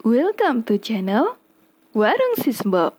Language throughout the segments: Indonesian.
Welcome to channel Warung Sisbo.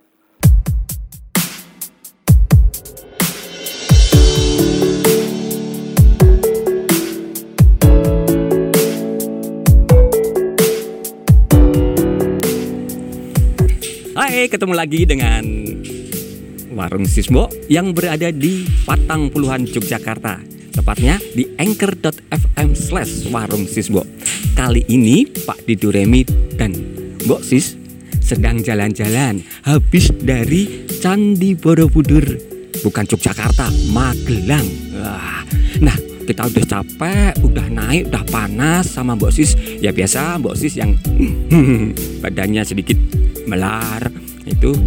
Hai, ketemu lagi dengan Warung Sisbo yang berada di Patang Puluhan, Yogyakarta. Tepatnya di anchor.fm/Warung Sisbo. Kali ini Pak Diduremi dan Mbok Sis sedang jalan-jalan habis dari Candi Borobudur. Bukan Yogyakarta, Magelang. Nah, kita udah capek, udah naik, udah panas sama Mbok Sis. Ya biasa Mbok Sis yang badannya sedikit melar itu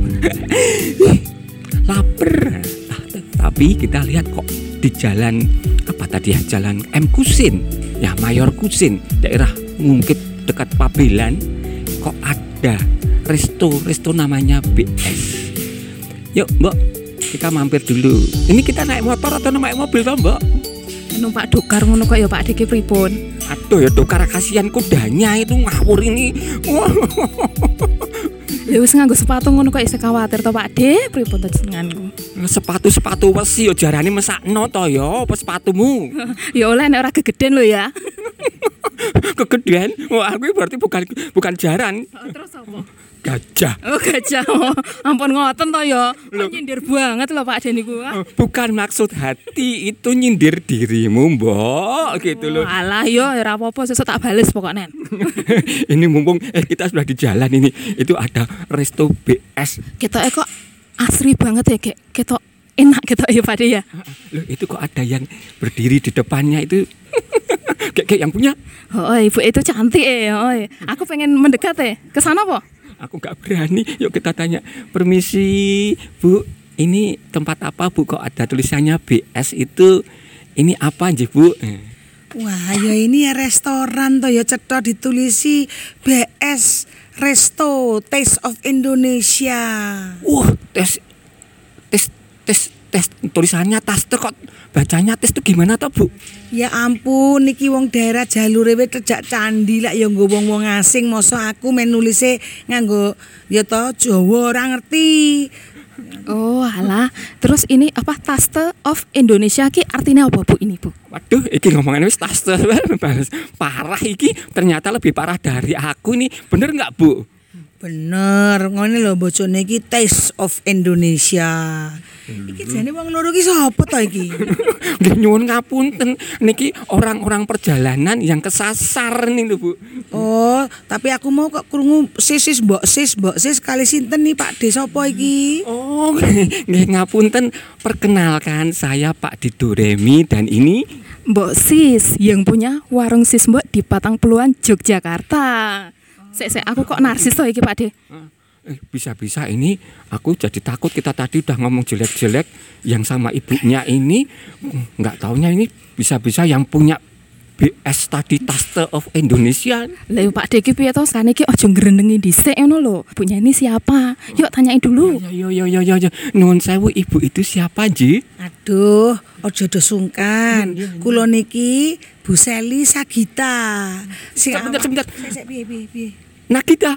lapar. Tapi kita lihat kok di jalan apa tadi ya, jalan M Kusin ya, Mayor Kusin, daerah Ngungkit dekat Pabelan, kok ada resto namanya BS. Yuk Mbok, kita mampir dulu. Ini kita naik motor atau naik mobil toh Mbok? Numpak dokar ngono kok ya Pak Diki pripun? Aduh ya dokar, kasihan kudanya itu ngawur ini. Lha wis nganggo sepatu ngono kok isih kuwatir to Pak De, pripun to jenenganku? Sepatu wesi yo jarane mesakno to ya, apa sepatumu? Ya oleh nek ora gegeden lho ya. Kegedean? Wah, aku berarti bukan jaran. Terus apa? Gajah. Oh gajah. Ampun ngoten to ya. Nyindir banget lho Pak De niku. Bukan maksud hati, itu nyindir dirimu, Mbok, gitu loh. Alah yo ora apa-apa, sesuk tak bales pokoknya. Ini mumpung kita sudah di jalan ini, itu ada resto BS. Ketoke kok asri banget ya, ketok enak ketok ya Pak De ya. Loh, itu kok ada yang berdiri di depannya itu. Kayak yang punya. Oh, ibu itu cantik oh. Aku pengen mendekat ke sana po? Aku gak berani. Yuk kita tanya. Permisi Bu, ini tempat apa Bu? Kok ada tulisannya BS itu? Ini apa aja Bu? Wah, ya ini ya restoran toh ya, cetha ditulisi BS Resto Taste of Indonesia. Tes tulisannya taste, kok bacanya tes itu gimana toh Bu? Ya ampun, niki wong daerah jalure wis cedhak candi lah ya nggo wong asing, masa aku men nulise nganggo ya toh Jawa ora ngerti. Oh alah, terus ini apa Taste of Indonesia ki artinya apa Bu ini Bu? Waduh, iki ngomongan wis taste parah iki, ternyata lebih parah dari aku nih. Bener nggak Bu? Bener, ngene lho bojone iki Taste of Indonesia. Iki jane wong loro ki sapa to iki? Nggih nyuwun ngapunten, niki orang-orang perjalanan yang kesasar nih lho Bu. Oh, tapi aku mau kok krungu Mbok sis kali sinten nih Pak De sapa iki? Oh, nggih ngapunten, perkenalkan saya Pak Diduremi dan ini Mbok Sis yang punya Warung Sisbo di Patang Puluhan, Yogyakarta. Sek aku kok narsis toh iki Pak De. Bisa-bisa ini aku jadi takut, kita tadi udah ngomong jelek-jelek yang sama ibunya ini, nggak taunya ini bisa-bisa yang punya BS tadi Taste of Indonesia. Lah Pak De iki piye to sakane iki aja ngrenengi dhisik ngono lho. Punya ini siapa? Yuk tanyain dulu. Yo. Nuwun sewu, ibu itu siapa, Ji? Aduh, ojo do sungkan. Kula niki Bu Seli Sagita. Sebentar. Piye. Nagita.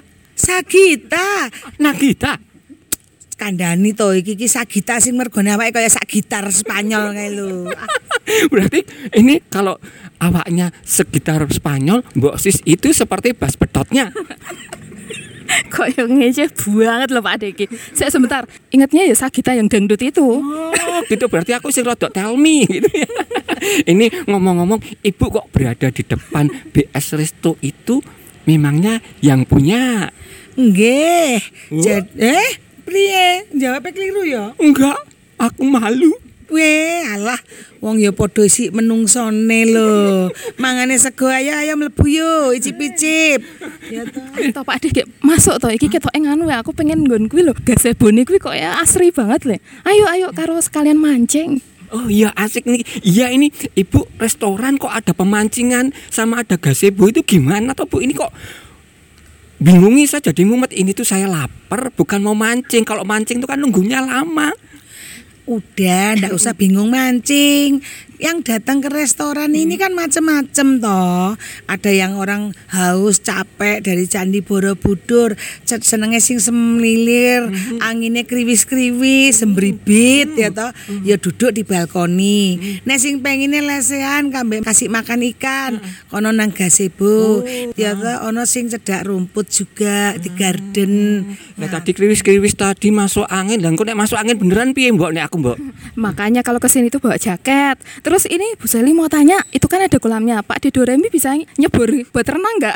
Kandhani to iki Sagita sing mergone awake kaya sak gitar Spanyol kae lho. Berarti ini kalau awaknya segitar Spanyol, Mbok Sis itu seperti bass pedotnya. Kok yang ngece banget loh Pak De iki. Saya sebentar, ingatnya ya Sagita yang dangdut itu. Oh, gitu berarti aku sing rodok tell me gitu ya. Ini ngomong-ngomong, Ibu kok berada di depan BS Resto itu memangnya yang punya? Nggih. Priye? Jawabnya keliru ya? Enggak, aku malu. Weh, alah, wong ya padha sik menungsone lho. Mangane sego ayo mlebu yo, icip-icip. Ya to Pak De, masuk to iki ketoke nganu ya, aku pengen nggon kuwi lho, gazebone kuwi kok ya asri banget le. Ayo karo sekalian mancing. Oh iya asik nih. Iya ini Ibu restoran kok ada pemancingan sama ada gazebo, itu gimana toh Bu? Ini kok bingungi saya jadi mumet. Ini tuh saya lapar, bukan mau mancing. Kalau mancing tuh kan nunggunya lama. Udah, ndak usah bingung mancing. yang datang ke restoran ini kan macem-macem toh. Ada yang orang haus capek dari Candi Borobudur, senenge sing semlilir, anginnya kriwis-kriwis, sembribit ya toh. Ya duduk di balkoni. Nek sing pengine lesehan kambe kasih makan ikan, kono nang gazebo. Ya toh ono sing cedak rumput juga di garden. Nah, tadi kriwis-kriwis tadi masuk angin, dan kok nek masuk angin beneran piye Mbok nek aku Mbok? Makanya kalau kesini tuh bawa jaket. Terus ini Bu Seli mau tanya, itu kan ada kolamnya, Pak di Doremi bisa nyebur buat renang nggak?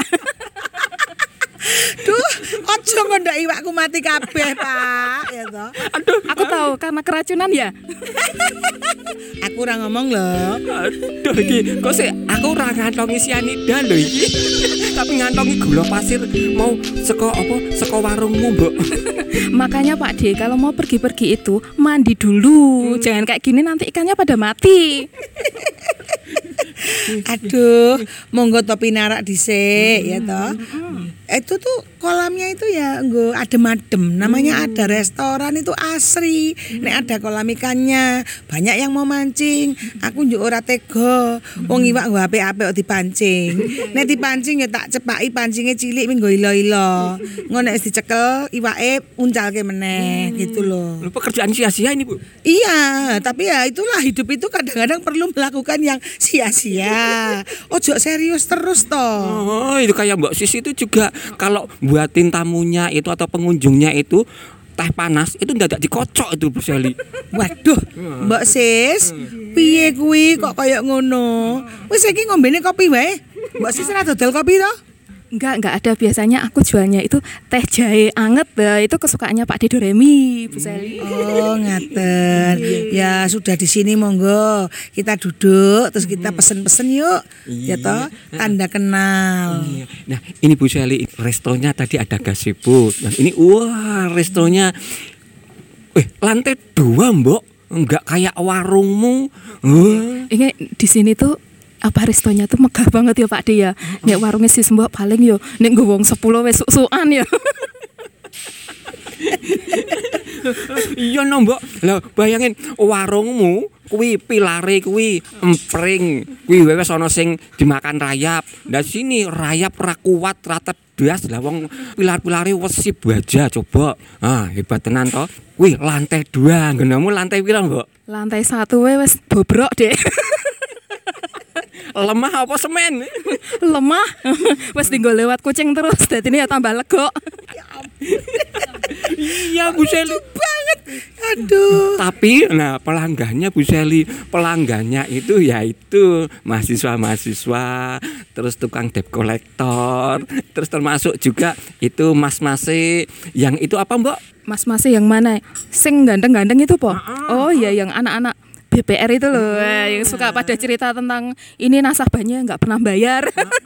Duh, ojo ngondak iwakku mati kabeh, Pak. Ya toh. Aduh, aku tahu karena keracunan ya. Aku ora ngomong loh. Aduh iki kok sih aku ora ngantongi sianida lho iki. Tapi ngantongi gula pasir mau saka apa? Saka warungmu, Mbok. Makanya Pak D kalau mau pergi-pergi itu mandi dulu. Jangan kayak gini nanti ikannya pada mati. Aduh, monggo topi narak dhisik ya toh. Itu tuh kolamnya itu ya nggo adem-adem. Namanya ada restoran itu asri. Nek ada kolam ikannya, banyak yang mau mancing. Aku njuk ora tega. Wong iwak nggo apik-apik kok dipancing. Nek dipancing ya tak cepaki pancingnya cilik ming nggo ilo-ilo. Ngono nek dicekel iwake uncalke meneh gitu loh. Lu pekerjaan sia-sia ini, Bu. Iya, tapi ya itulah hidup itu kadang-kadang perlu melakukan yang sia-sia. Ojo serius terus toh. Oh, itu kayak Mbak Sis itu juga kalau buatin tamunya itu atau pengunjungnya itu teh panas itu ndadak dikocok itu Bu Seli. Waduh, Mbak Sis, piye kuwi kok kayak ngono? Wis iki ngombene kopi wae. Mbak Sis ora dodol kopi toh? Enggak ada, biasanya aku jualnya itu teh jahe anget. Itu kesukaannya Pak D Doremi, Bu Seli. Oh, ngaten. Ya sudah di sini monggo. Kita duduk terus kita pesen-pesen yuk. Ya toh, tanda kenal. Iya. Nah, ini Bu Seli, restonya tadi ada gazebo. Dan ini wah, restonya lantai 2, Mbok. Enggak kayak warungmu. Ini di sini tuh apa restonya tuh megah banget ya Pak D ya. Nek warungnya sis Mbok paling yo nek nggo wong 10 wis suk-sukan ya. Iya no Mbok. Lah bayangin warungmu kuwi pilare kuwi empring. Kuwi wis ana sing dimakan rayap. Lah sini rayap ra kuat ra tedas lah wong pilar-pilare wesi baja coba. Ah hebat tenan to. Kuwi lantai 2, nggonmu lantai pira Mbok? Lantai 1 wis bobrok deh. Lemah apa semen? Lemah. Wis tinggal lewat kucing terus dadine ya tambah lega. Iya Bu Seli Banget. Aduh. Tapi nah pelanggannya Bu Seli, pelanggannya itu yaitu mahasiswa-mahasiswa, terus tukang debt collector, terus termasuk juga itu mas-mase yang itu apa Mbok? Mas-mas yang mana? Sing ganteng-ganteng itu po? Oh iya yang anak-anak BPR itu loh, yang suka pada cerita tentang ini nasabahnya nggak pernah bayar.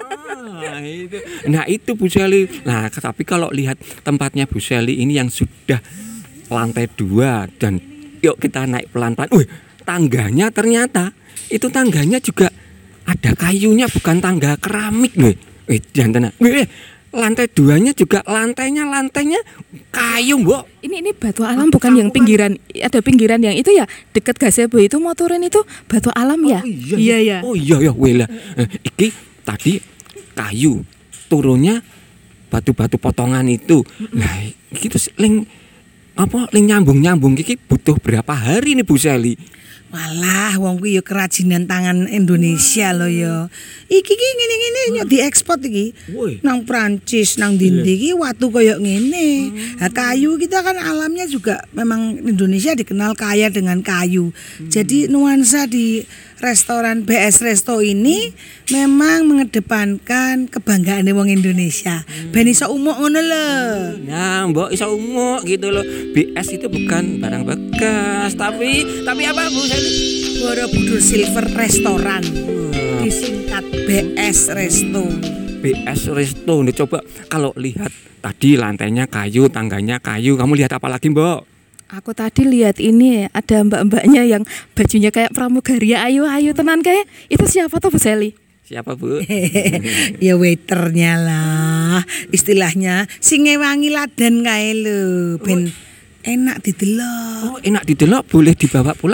Nah itu Bu Seli. Nah tapi kalau lihat tempatnya Bu Seli ini yang sudah lantai 2 dan yuk kita naik pelan-pelan. Tangganya ternyata itu tangganya juga ada kayunya, bukan tangga keramik loh. Jangan tenang. Lantai 2-nya juga lantainya kayu, Mbok. Ini batu alam bukan yang pinggiran. Ada pinggiran yang itu ya dekat gazebo itu mau turun itu batu alam ya. Iya. Oh iya wela. Iki tadi kayu, turunnya batu-batu potongan itu. Nah, iki terus ling nyambung iki butuh berapa hari nih Bu Seli? Walah, wong kuwi ya kerajinan tangan Indonesia loh ya. Iki ngene-ngene yo diekspor iki. Nang Prancis, nang ndi iki watu koyo ngene. Nah, kayu kita kan alamnya juga memang Indonesia dikenal kaya dengan kayu. Jadi nuansa di restoran BS Resto ini memang mengedepankan kebanggaan wong Indonesia. Ben iso umuk ngono lho. Nah, Mbok iso umuk gitu loh. BS itu bukan barang bekas, tapi apa Bu Seli? Borobudur Silver Restoran. Disingkat BS Resto. BS Resto. Nih coba kalau lihat tadi lantainya kayu, tangganya kayu, kamu lihat apa lagi, Mbok? Aku tadi lihat ini ada mbak-mbaknya yang bajunya kayak pramugari ayu tenan kayak. Itu siapa tuh Bu Seli? Siapa Bu? Ya waiternya lah. Istilahnya sing ngewangi ladan kae lho, ben enak didelok. Oh, enak didelok, boleh dibawa pulang enggak?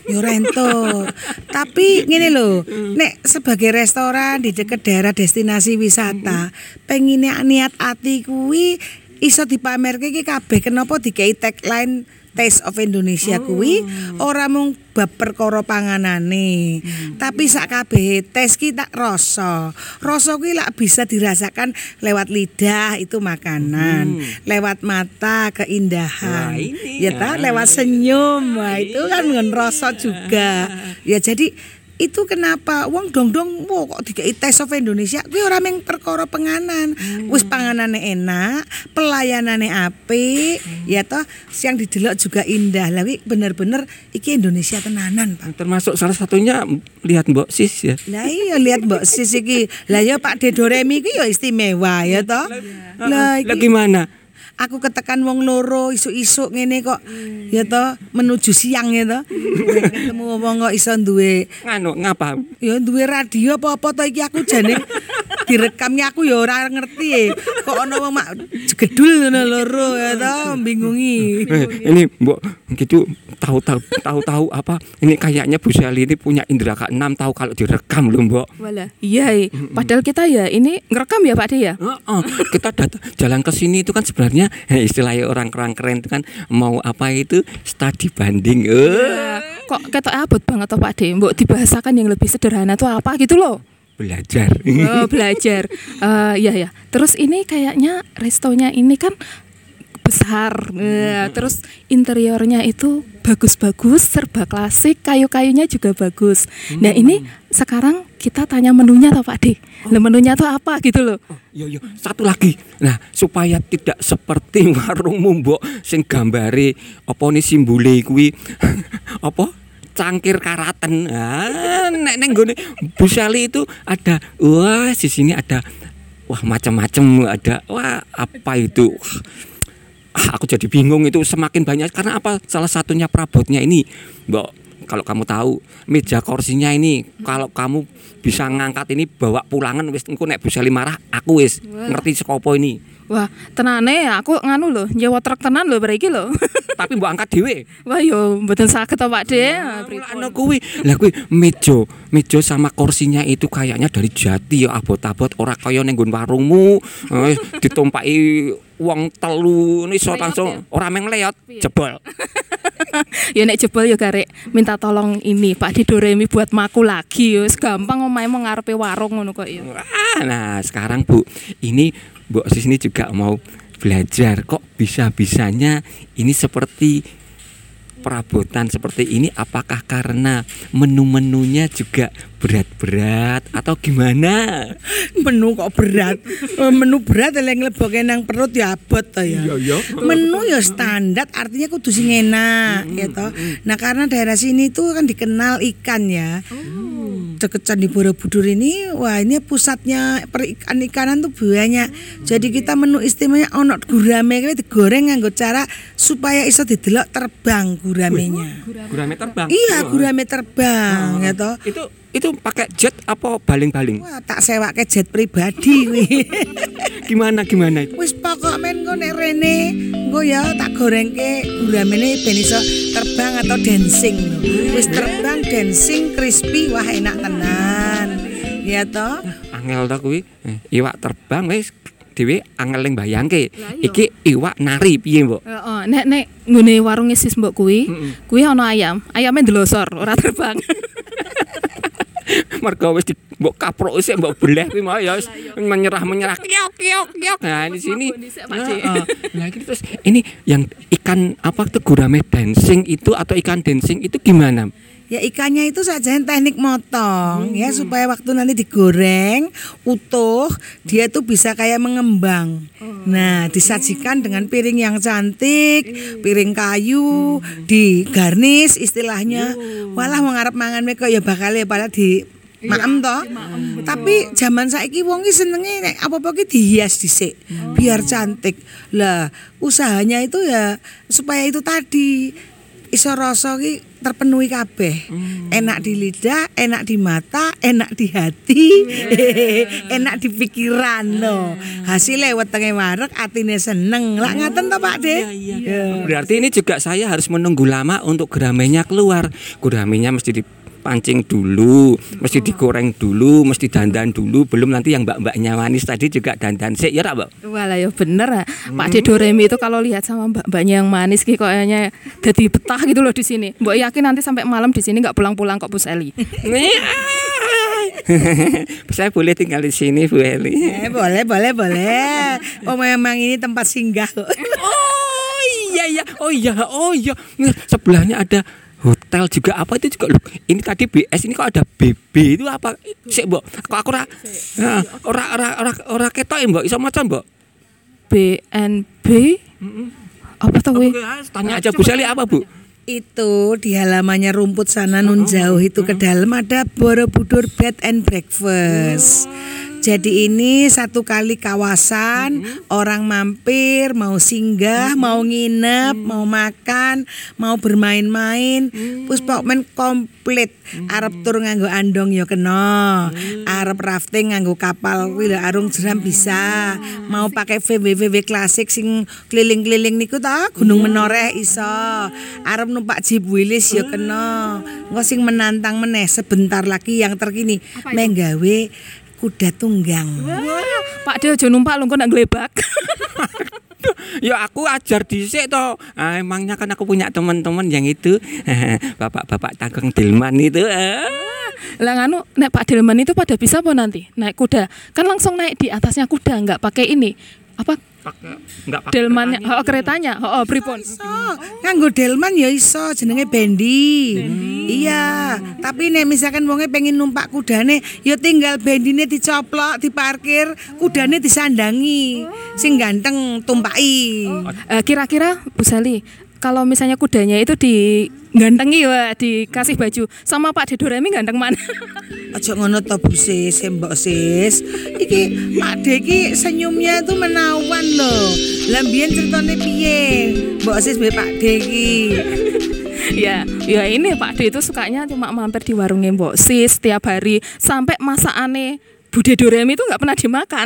Yo rento. Tapi ngene lho, nek sebagai restoran di dekat daerah destinasi wisata, pengine niat ati kuwi iso dipamerke iki kabeh kenapa dikei tagline Taste of Indonesia kuwi ora mung bab perkara panganane, tapi sak kabeh tes ki tak rasa. Rasa kuwi lak bisa dirasakan lewat lidah itu makanan, lewat mata keindahan. Wah, ini Ya ta, lewat senyum. Wah, itu kan ngen rasa juga. Ya jadi itu kenapa wong dong-dong kok dikei Taste of Indonesia kuwi ora mung perkara panganan. Wis panganane enak, pelayanane apik, ya toh yang didelok juga indah. Lah kuwi bener-bener iki Indonesia tenanan, Pak. Termasuk salah satunya lihat Mbok Sis ya. Lah iya lihat Mbok Sis iki. Lah ya Pak Dedoremi iki ya istimewa ya toh. Lah Lah iki gimana? aku ketekan wong loro isuk-isuk ngene kok ya toh menuju siang ya toh. Ketemu wong kok iso duwe Ngapa? ya duwe radio apa-apa to iki aku jane direkamnya aku ya ora ngerti. Kok ana wong mak jedul ngono loro ya toh bingungi. Ini Mbok gitu tahu apa ini kayaknya Bu Sally ini punya indera keenam tahu kalau direkam loh Mbok. Walah, iya. Padahal kita ya ini ngerekam ya Pak De ya. Kita jalan ke sini itu kan sebenarnya istilahnya orang keren itu kan mau apa itu studi banding. Kok ketok abot banget toh Pak De. Mbok dibahasakan yang lebih sederhana tuh apa gitu loh. Belajar. Oh, belajar. Ya. Terus ini kayaknya restonya ini kan besar. Terus interiornya itu bagus-bagus, serba klasik, kayu-kayunya juga bagus. Nah, ini sekarang kita tanya menunya toh Pak De. Lah menunya tuh apa gitu loh. Yo, satu lagi. Nah, supaya tidak seperti warungmu Mbok sing gambare apa ni simbole kuwi apa? Cangkir karaten. Nek neng gone Bu Sally itu ada di sini ada macam-macam ada apa itu? Aku jadi bingung itu semakin banyak karena apa? Salah satunya perabotnya ini, Mbok. Kalau kamu tahu meja kursinya ini kalau kamu bisa ngangkat ini bawa pulangan wis engko nek Bu Sally marah aku wis ngerti sekopo ini. Wah, tenane aku nganu loh, nyewa truk tenan loh beriki loh. Tapi mbok angkat dhewe. Wah yo mboten saged to Pak De. Ana kuwi. Lah kuwi meja sama kursinya itu kayaknya dari jati ya abot-abot ora kaya ning nggon warungmu. Ditumpaki wong telu iso langsung ora meng leot jebol. Ya nek jebol ya garek minta tolong ini Pak Dedoremi buat maku lagi yo. Gampang omahe mau ngarepe warung ngono kok ya. Nah, sekarang Bu, ini Mbok Sis ini juga mau belajar kok bisa-bisanya ini seperti perabotan seperti ini apakah karena menu-menunya juga berat-berat atau gimana? Menu kok berat. Menu berat yang ngleboke nang perut ya abot to ya. Iya. Menu ya standar artinya kudu sing enak ya toh. Nah, karena daerah sini tuh kan dikenal ikan ya. Dekat Candi Borobudur ini wah ini pusatnya perikan-ikanan tuh banyak. Jadi kita menu istimewanya ono gurame kuwi digoreng nganggo cara supaya iso didelok terbang guramenya. Gurame terbang. Iya, gurame terbang ya toh. Itu pakai jet apa baling-baling? Wah, tak sewake jet pribadi kuwi. Gimana itu? Wis pokok men engko nek rene engko ya tak gorengke guramene ben iso terbang atau dancing lho. Wis terbang dancing crispy wah enak tenan. Ya toh? Angel ta kuwi. Iwak terbang wis dhewe angel ning bayangke. Iki iwak nari piye, Mbok? Heeh, nek nggone warunge Sis Mbok kuwi ana ayam. Ayame ndelosor ora terbang. Mergo wis mbok kaprok sik mbok beleh kuwi mau ya menyerah kiok. Nah di sini nah ini terus ini yang ikan apa tuh gurame dancing itu atau ikan dancing itu gimana? Ya ikannya itu saja teknik motong ya supaya waktu nanti digoreng utuh dia tuh bisa kayak mengembang. Nah, disajikan dengan piring yang cantik, piring kayu, digarnis istilahnya. Walah wong arep mangan kok ya bakal di maem toh. Tapi zaman saiki wong ki senenge nek apa-apa ki dihias dhisik biar cantik. Lah, usahanya itu ya supaya itu tadi iso rasa ki terpenuhi kabeh. Enak di lidah, enak di mata, enak di hati, enak di pikiran no. Hasilnya wetenge wareg atine seneng. Lah ngaten to Pak De. Berarti ini juga saya harus menunggu lama untuk guramenya keluar. Guramenya mesti dipancing dulu, mesti digoreng dulu, mesti dandan dulu, belum nanti yang mbak-mbaknya manis tadi juga dandan sik ya Mbak. Walah ya bener. Pak De Doremi itu kalau lihat sama mbak-mbaknya yang manis ki kayaknya jadi betah gitu loh di sini. Mbak yakin nanti sampai malam di sini nggak pulang-pulang kok Bu Seli. Saya boleh tinggal di sini Bu Eli. Boleh. Oh memang ini tempat singgah kok. Oh iya. Sebelahnya ada hotel juga apa itu juga loh. Ini tadi BS ini kok ada BB itu apa? Sik Mbok. Kok aku ora ketok ya Mbok. Iso maca Mbok. BNB apa tuh we? Tanya aja Bu Seli apa Bu? Itu di halamannya rumput sana nun jauh itu ke dalam ada Borobudur Bed and Breakfast. Jadi ini satu kali kawasan orang mampir, mau singgah, mau nginep, mau makan, mau bermain-main, Puspokmen komplit. Arep tur nganggo andong ya kena, arep rafting nganggo kapal kuwi arung jeram bisa, mau pakai VW klasik sing keliling-keliling niku ta Gunung Menoreh iso, arep numpak Jeep Willys ya kena. Engko sing menantang meneh sebentar lagi yang terkini menggawe kuda tunggang. Pak De aja numpak lho kok nak glebak. Ya aku ajar dhisik to. Emangnya kan aku punya teman-teman yang itu bapak-bapak tanggung delman itu. Lah nganu nek Pak Delman itu pada bisa apa nanti naik kuda? Kan langsung naik di atasnya kuda, enggak pakai ini. Apa? Enggak pakai Delmannya, keretanya. Pripun? Nganggo delman ya iso jenenge bendi. Iya, tapi nek misalkan wonge pengen numpak kudane ya tinggal bendine dicoplok, diparkir, kudane disandangi. Sing ganteng tumpaki. Kira-kira Bu Sali, kalau misalnya kudanya itu digantengi ya, dikasih baju sama Pak De Doremi ganteng mana? Aja ngono to Bu Sis, Mbok Sis. Iki Pak De iki senyumnya itu menawan loh. Lah mbiyen ceritane piye? Mbok Sis mbek Pak De iki. Ya ini Pak De itu sukanya cuma mampir di warungnya Mbok Sis setiap hari sampai masakane Bude Doremi itu nggak pernah dimakan.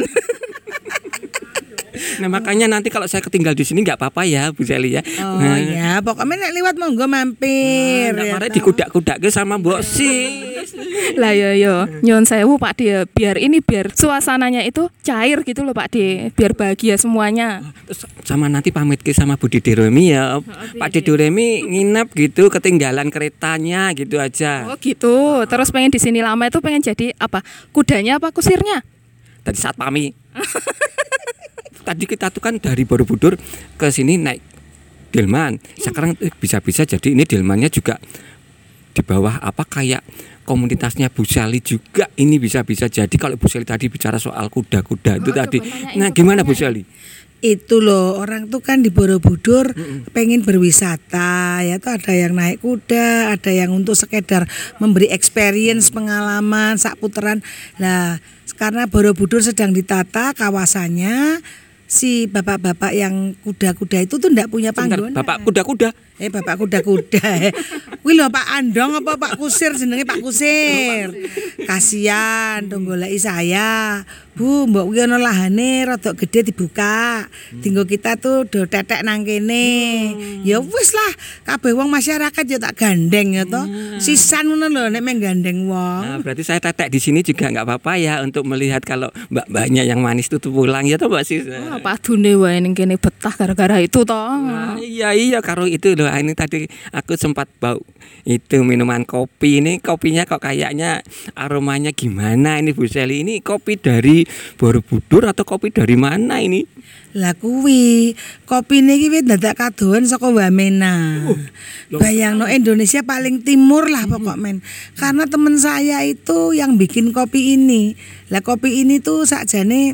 Nah makanya nanti kalau saya ketinggal di sini nggak apa-apa ya Bu Seli ya. Oh ya, pokoknya nek liwat monggo mampir. Kemarin dikudak-kudak ke sama Mbok Sis. Lah yo nyuwun sewu Pak De, biar suasananya itu cair gitu loh Pak De, biar bahagia semuanya. Terus sama nanti pamit ke sama Bude Doremi ya. Pak De Doremi nginep gitu, ketinggalan keretanya gitu aja. Oh gitu. Terus pengen di sini lama itu pengen jadi apa? Kudanya apa kusirnya? Tadi saat pami. Tadi kita tuh kan dari Borobudur ke sini naik delman. Sekarang bisa-bisa jadi ini delmannya juga di bawah apa kayak komunitasnya Bu Seli juga. Ini bisa-bisa jadi kalau Bu Seli tadi bicara soal kuda-kuda itu tadi. Nah, gimana Bu Seli? Itu loh, orang tuh kan di Borobudur pengen berwisata ya tuh, ada yang naik kuda, ada yang untuk sekedar memberi experience pengalaman sak puteran. Nah, karena Borobudur sedang ditata kawasannya, si bapak-bapak yang kuda-kuda itu tuh ndak punya panggonan. Bapak kuda-kuda. Bapak kuda-kuda. Wih lho Pak Andong apa Pak Kusir, jenenge Pak Kusir. Kasihan dong goleki saya. Bu, mbok kuwi ana lahane rada gede dibuka. Dinggo kita tuh do tetek nang kene. Ya wis lah, kabeh wong masyarakat ya tak gandeng ya toh. Sisan ngono lho nek meng gandeng wong. Nah, berarti saya tetek di sini juga enggak apa-apa ya untuk melihat kalau mbak-mbaknya yang manis itu pulang ya toh Mbak Sis. Padune wae ning kene betah gara-gara itu toh. Nah, iya karo itu loh. Ini tadi aku sempat bau itu minuman kopi. Ini kopinya kok kayaknya aromanya gimana ini Bu Seli? Ini kopi dari Borobudur atau kopi dari mana ini? Lah kuwi kopine iki wis dadak kadohan saka Wamena. Bayangno Indonesia paling timur lah pokok men. Karena teman saya itu yang bikin kopi ini. Lah kopi ini tuh sakjane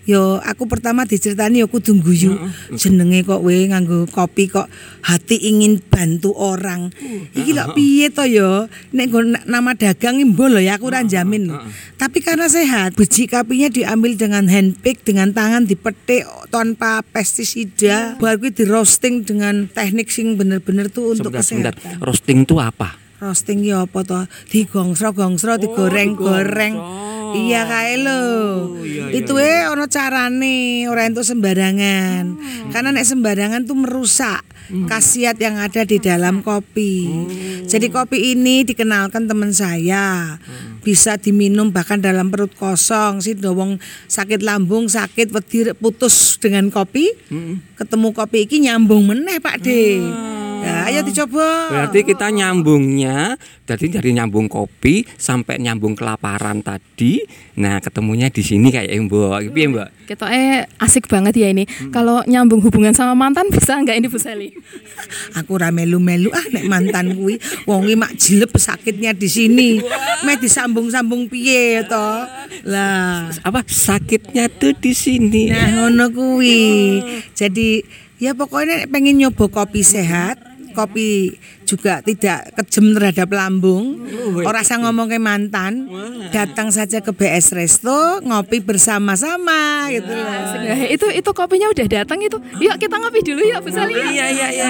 Yo aku pertama diceritani yo kudu guyu. Jenenge kok we nganggo kopi kok hati ingin bantu orang. Iki lho piye to yo? Nek nggo nama dagang mbok lho ya aku ora jamin lho. Tapi karena sehat, biji kopinya diambil dengan handpick dengan tangan dipetik tanpa pestisida. Baru kuwi di roasting dengan teknik sing bener-bener tuh untuk Sebentar. kesehatan. Roasting itu apa? Roasting ya apa to? Digongsro-gongsro, digoreng-goreng. Iya kae lho. Itu ono carane, ora entuk sembarangan. Karena nek sembarangan tuh merusak khasiat yang ada di dalam kopi. Jadi kopi ini dikenalkan teman saya. Bisa diminum bahkan dalam perut kosong. Si wong sakit lambung, sakit wedi putus dengan kopi. Ketemu kopi iki nyambung meneh Pak De. Ya, ayo dicoba. Berarti kita nyambungnya, jadi dari nyambung kopi sampai nyambung kelaparan tadi. Nah, ketemunya di sini kayak Mbok. Piye, Mbok? Ketoknya asik banget ya ini. Kalau nyambung hubungan sama mantan bisa nggak ini Bu Sally? Aku ora melu-melu nek mantan kuwi wong mak jilep sakitnya di sini. Meh disambung-sambung piye to? Lah, Apa sakitnya tuh di sini? nah ngono kuwi. Jadi ya pokoknya pengen nyoba kopi sehat, kopi juga tidak kejem terhadap lambung. Ora usah ngomong ke mantan. Datang saja ke BS Resto, ngopi bersama-sama gitu loh. Nah, itu kopinya udah datang itu. Yuk kita ngopi dulu yuk Bu Sally. Iya,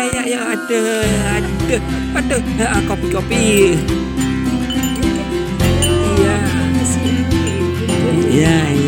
aduh, kopi. Iya.